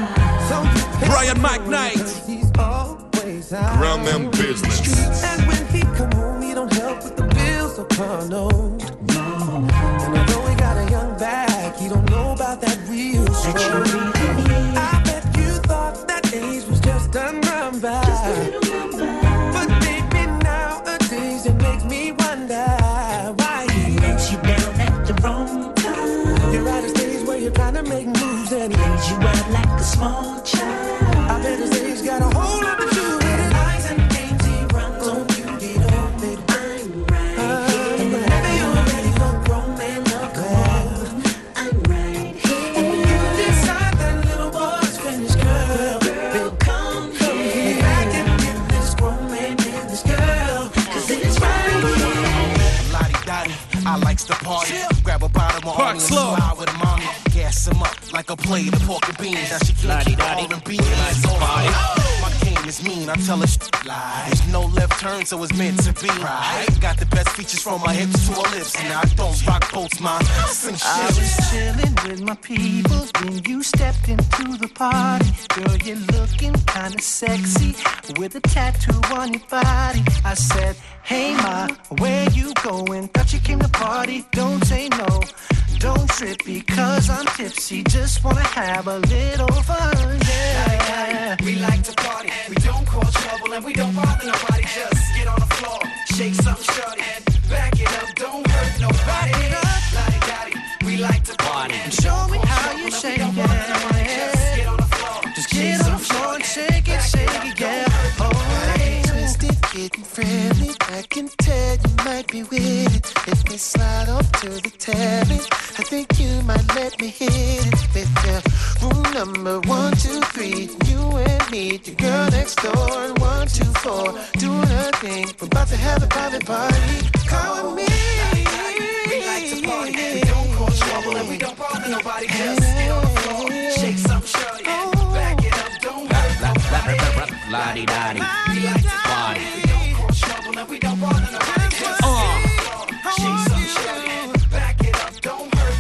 Brian McKnight. He's always out. Ground them business. And when he come home, he don't help with the bills or car note. And although he got a young back, he don't know about that real struggle. I bet you thought that age was just done run by. But baby, nowadays it makes me wonder why he let you down at the wrong time. You're at a stage where you're trying to make moves and he lays you out like a small child. I bet his age got a whole lot to do with it. Lies and games he runs on you, get off it. I'm right here. And whenever you're ready for grown men to call, I'm right here. And when you decide that little boy's finished, girl, girl, come here. Back and get this grown man and this girl, cause it's right here. Lottie-dottie, I likes to party. Grab a bottle of army and slide with a mommy. Gas him up like a plate of pork and beans. Now she can't keep R and B. My game is mean, I tell her sh- lie. There's no left turn, so it's meant to be. Right. Got the best features from my hips to her lips. And I don't rock boats, ma. Sing shit. I was chilling with my people when you stepped into the party. Girl, you're looking kinda sexy with a tattoo on your body. I said, hey ma, where you going? Thought you came to party, don't say no. Don't trip because I'm tipsy, just wanna have a little fun, yeah. We like to party, we don't cause trouble and we don't bother nobody. Just get on the floor, shake something shorty, and back it up, don't hurt nobody. Lottie-dottie, we like to party. Show me how you shake it, yeah. Just get on the floor, just get on the floor and shake it, shake it, yeah. Oh, twisted, getting friendly. I can tell you might be with it. Let me slide up to the terrace. I think you might let me hit it with the room number one, two, three. You and me, the girl next door, and one, two, four, doing her thing. We're about to have a private party. Come with me. We like to party, we don't cause trouble and we don't bother nobody. Just get on the floor, shake something shorty, back it up, don't hurt nobody. Lottie-dottie, we like to party, we don't cause trouble and we don't bother nobody. Just get on the floor, shake something shorty, back it up, don't hurt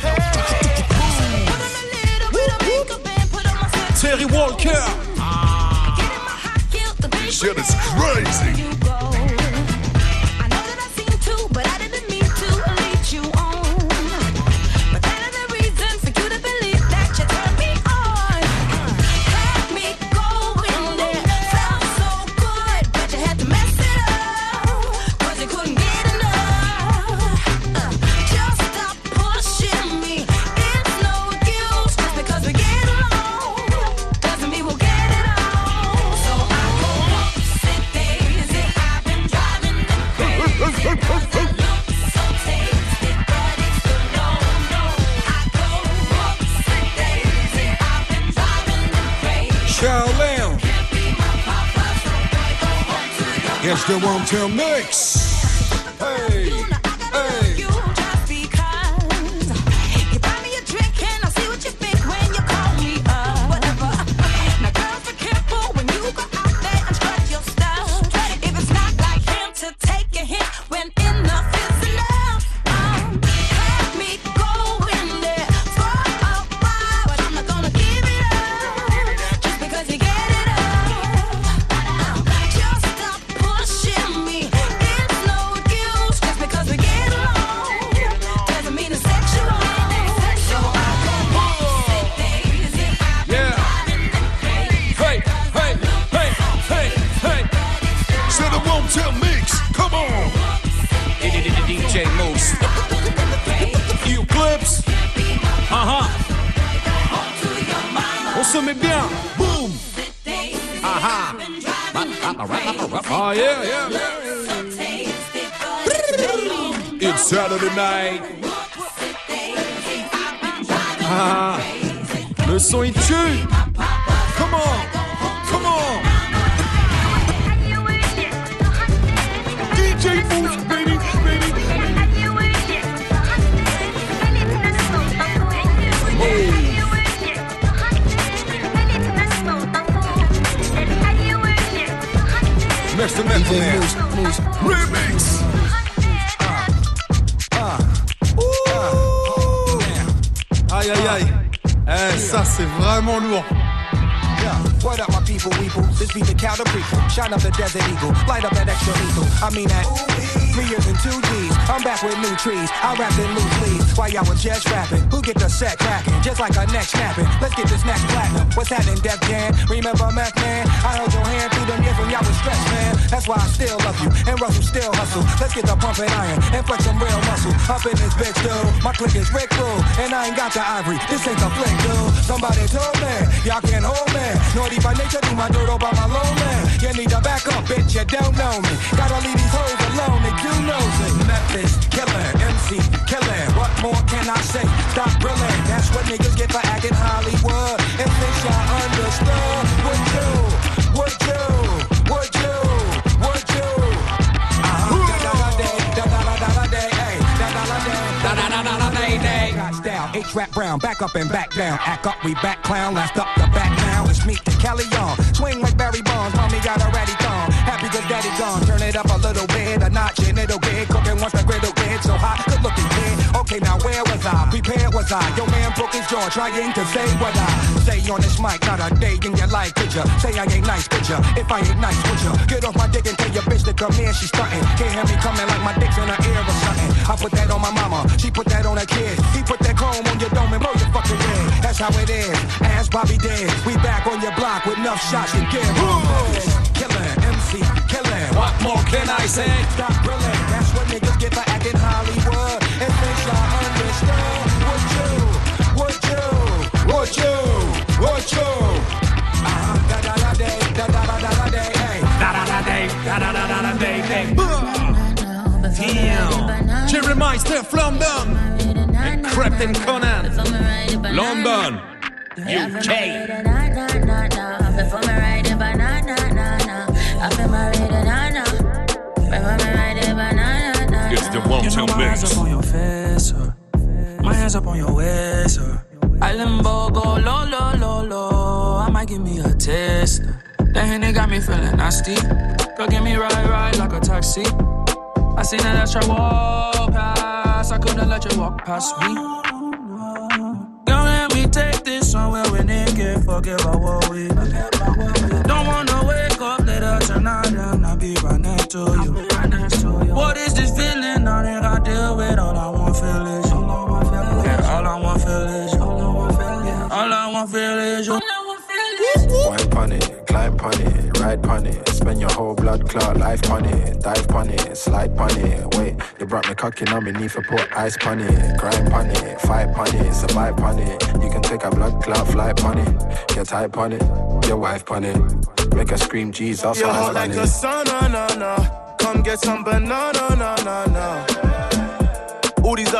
nobody. Terry Walker. Shit is crazy. Charlene. It's the One Tail Mix. Hey, hey. Se met bien, boom. Aha. Oh yeah, yeah, yeah. It's Saturday night. Ah, le son il tue. Come on, come on. D J Mousse, baby, baby. Oh. Mister D J Mousse, Mousse, Remix. Ah, ah, aïe aïe aïe. Eh, ça c'est vraiment lourd. What up, my people, weeple? This be the counter prequel. Shine up the desert eagle, light up that extra lethal. I mean that. Three years and two G's. I'm back with new trees. I rapped in loose leaves while y'all was just rapping. Who get the set cracking? Just like a neck snapping. Let's get this next platinum. What's happening, Def Jam? Remember Meth Man? I held your hand through them years when y'all was stressed, man. That's why I still love you. And Russell still hustle. Let's get the pumping iron and flex some real muscle. Up in this bitch, dude. My clique is Rick Roll. And I ain't got the ivory. This ain't the flick, dude. Somebody told me y'all can't hold me. Naughty by nature, do my dirt all by my low man. You need to back up, bitch, you don't know me. Gotta leave these hoes alone, they do know it. Memphis, killer, M C, killer. What more can I say? Stop grilling. That's what niggas get for acting Hollywood. And since y'all understood, would you, would you, would you, would you? Uh-huh. Da-da-da-day, da-da-da-da-day, hey, da-da-da-day, da-da-da-da-day. Style, H-Rap Brown, back up and back down. Act up, we back clown, last up the back now. It's me, Kelly on. Swing like Barry Bonds, mommy got a ready thong. Happy good daddy gone, turn it up a little bit, a notch and it'll get cooking once the griddle get so hot. Good looking kid, okay now where was I? Prepared was I? Your man broke his jaw trying to say what I say on this mic. Not a day in your life, could ya? Say I ain't nice, could ya? If I ain't nice, would ya? Get off my dick and tell your bitch to come in, she stuntin'. Can't hear me coming like my dick's in her ear or something. I put that on my mama, she put that on her kids. He put that chrome on your dome and blow your fucking head. That's how it is, ask Bobby did. We back on your block with enough shots to give. Killer, M C, killer. What more can I say? Stop grilling, that's what niggas get for acting Hollywood. And since y'all understood, would you, would you, would you, would you? Uh-huh, da-da-da-day, da-da-da-da-day, hey. Da-da-da-day, da-da-da-da-day, hey. Damn. Jerry Meister, London. And Captain Conan, London, U K. Before me ride the banana, I feel my banana. Before me ride the banana. It's the One Tail Mix. My hands up on your face, uh. My hands up on your waist, uh. I limbo go low, low, low, low. I might give me a taste. The Henny got me feeling nasty. Girl, give me ride, ride like a taxi. I seen that extra walk past. I couldn't let you walk past me. Don't let me take this somewhere we nigga forget about what we do. Don't wanna wake up later tonight and I'll be right next to you. What is this feeling? I think I deal with all I want feel is you. Yeah, all I want feel is you. All I want feel is you. Wine pon it, climb pon it, ride pon it. Spend your whole blood clot life pon it. Dive pon it, slide pon it. Wait, you brought me cocking on me knee for put ice pon it. Grind pon it, fight pon it, survive pon it. You can take a blood clot, fly pon it. Get tight pon it, your wife pon it. Make her scream Jesus, you're hot like the sun, no, no, no. Come get some banana, no, no,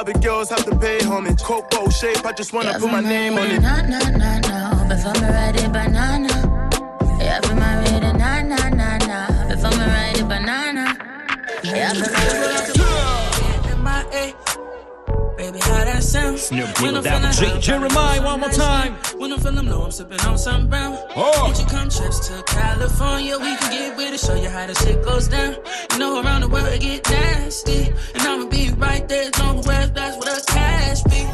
other girls have to pay, homie. Coco shape, I just wanna yeah, put my name on it. Nah, nah, nah, nah. Before me ride it, banana. Yeah, for my ready, nah, nah, nah, nah. Before me ride it, banana. Yeah, for my ready. M I A. Baby, how that sound? Snoop Deal down. J. Jeremiah, one more time. When I'm feeling low, I'm sipping on some brown. Oh. Won't you come trips to California? We can get with it, show you how the shit goes down. You know, around the world it get nasty. And I'ma be right there, long west, that's where the cash be.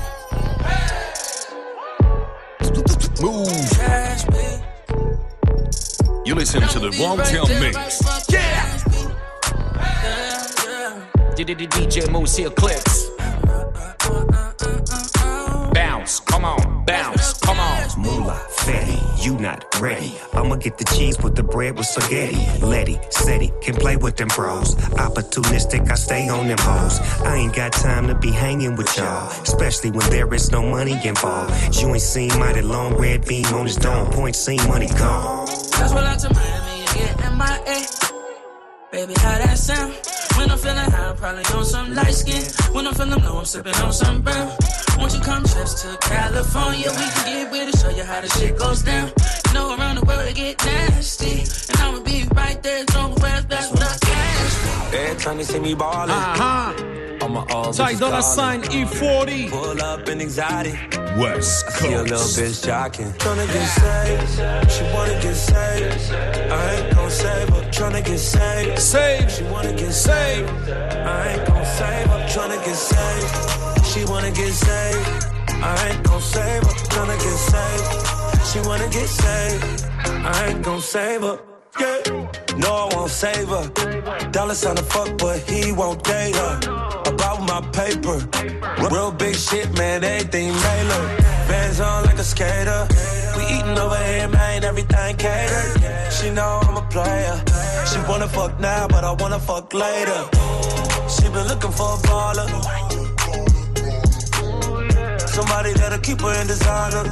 Move. Cash be. You listen to the Wongtail Mix. Yeah! D J Moose here, clips. Bounce, come on, bounce, come on. Moolah, fatty, you not ready. I'ma get the cheese with the bread with spaghetti. Letty, Seti, can play with them bros. Opportunistic, I stay on them hoes. I ain't got time to be hanging with y'all, especially when there is no money involved. You ain't seen mighty long red beam on his dome. Point seen money gone. That's what I to Miami, you get M I A. Baby, how that sound? When I'm feeling high, I'm probably on some light skin. When I'm feeling low, I'm sipping on some brown. Won't you come trips to California? We can get with it, show you how the shit goes down. You know, around the world it get nasty. And I'ma be right there, long west, that's what I cash. Every time they see me ballin', uh-huh. I'm all Ty Dolla Sign E forty. Pull up in exotic. West I see a little Coast. bitch jocking. Tryna get saved, she wanna get saved. I ain't gon' save her, tryna get saved. Save, she wanna get saved. I ain't gon' save her, tryna get saved. She wanna get saved. I ain't gon' save her, tryna get saved. She wanna get saved. I ain't gon' save her. Yeah. No, I won't save her. Dollar sign to fuck, but he won't date her. About my paper, real big shit, man, everything Mailer. Bands on like a skater. We eating over here, man, everything catered. She know I'm a player. She wanna fuck now, but I wanna fuck later. She been looking for a baller. Somebody that'll keep her in designer.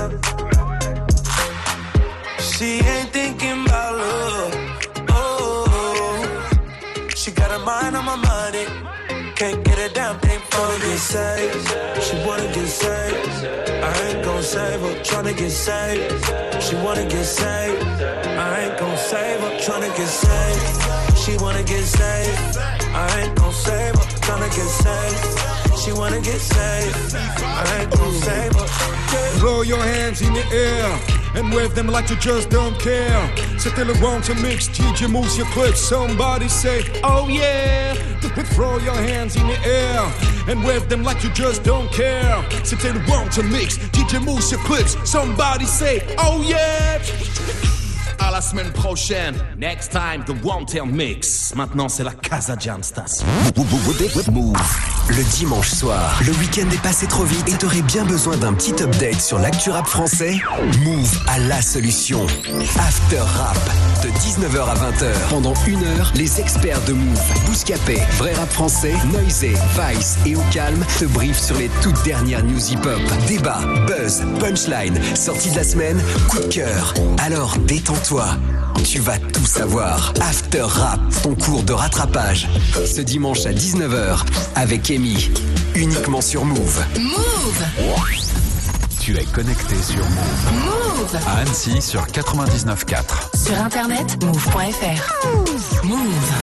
She ain't thinking about love. Oh, she got her mind on my money. Can't get a damn thing for her. Get saved. She wanna get saved. I ain't gon' save her. Tryna get saved. She wanna get saved. I ain't gon' save her. Tryna get saved. She wanna get saved. I ain't gon' save her. Tryna get saved. She wanna get saved. I ain't gon' save her. Yeah. Throw your hands in the air and wave them like you just don't care. C'était le Wongtail Mix, D J Moose your clip. Somebody say, oh yeah. Throw your hands in the air and wave them like you just don't care. C'était le Wongtail Mix, D J Moose your clips. Somebody say, oh yeah. À la semaine prochaine. Next time, the Wongtail Mix. Maintenant, c'est la Casa Jam Station. Move. Le dimanche soir, le week-end est passé trop vite et t'aurais bien besoin d'un petit update sur l'actu rap français. Move a la solution. After Rap, de dix-neuf heures à vingt heures. Pendant une heure, les experts de Move, Bouscapé, Vrai Rap Français, Noisé, Vice et Au Calme te briefent sur les toutes dernières news hip-hop. Débat, buzz, punchline, sortie de la semaine, coup de cœur. Alors détends-toi, tu vas tout savoir. After Rap, ton cours de rattrapage. Ce dimanche à dix-neuf heures avec Amy, uniquement sur Move. Move. Tu es connecté sur Move. Move. À Annecy sur quatre-vingt-dix-neuf virgule quatre. Sur internet, move point f r. Move.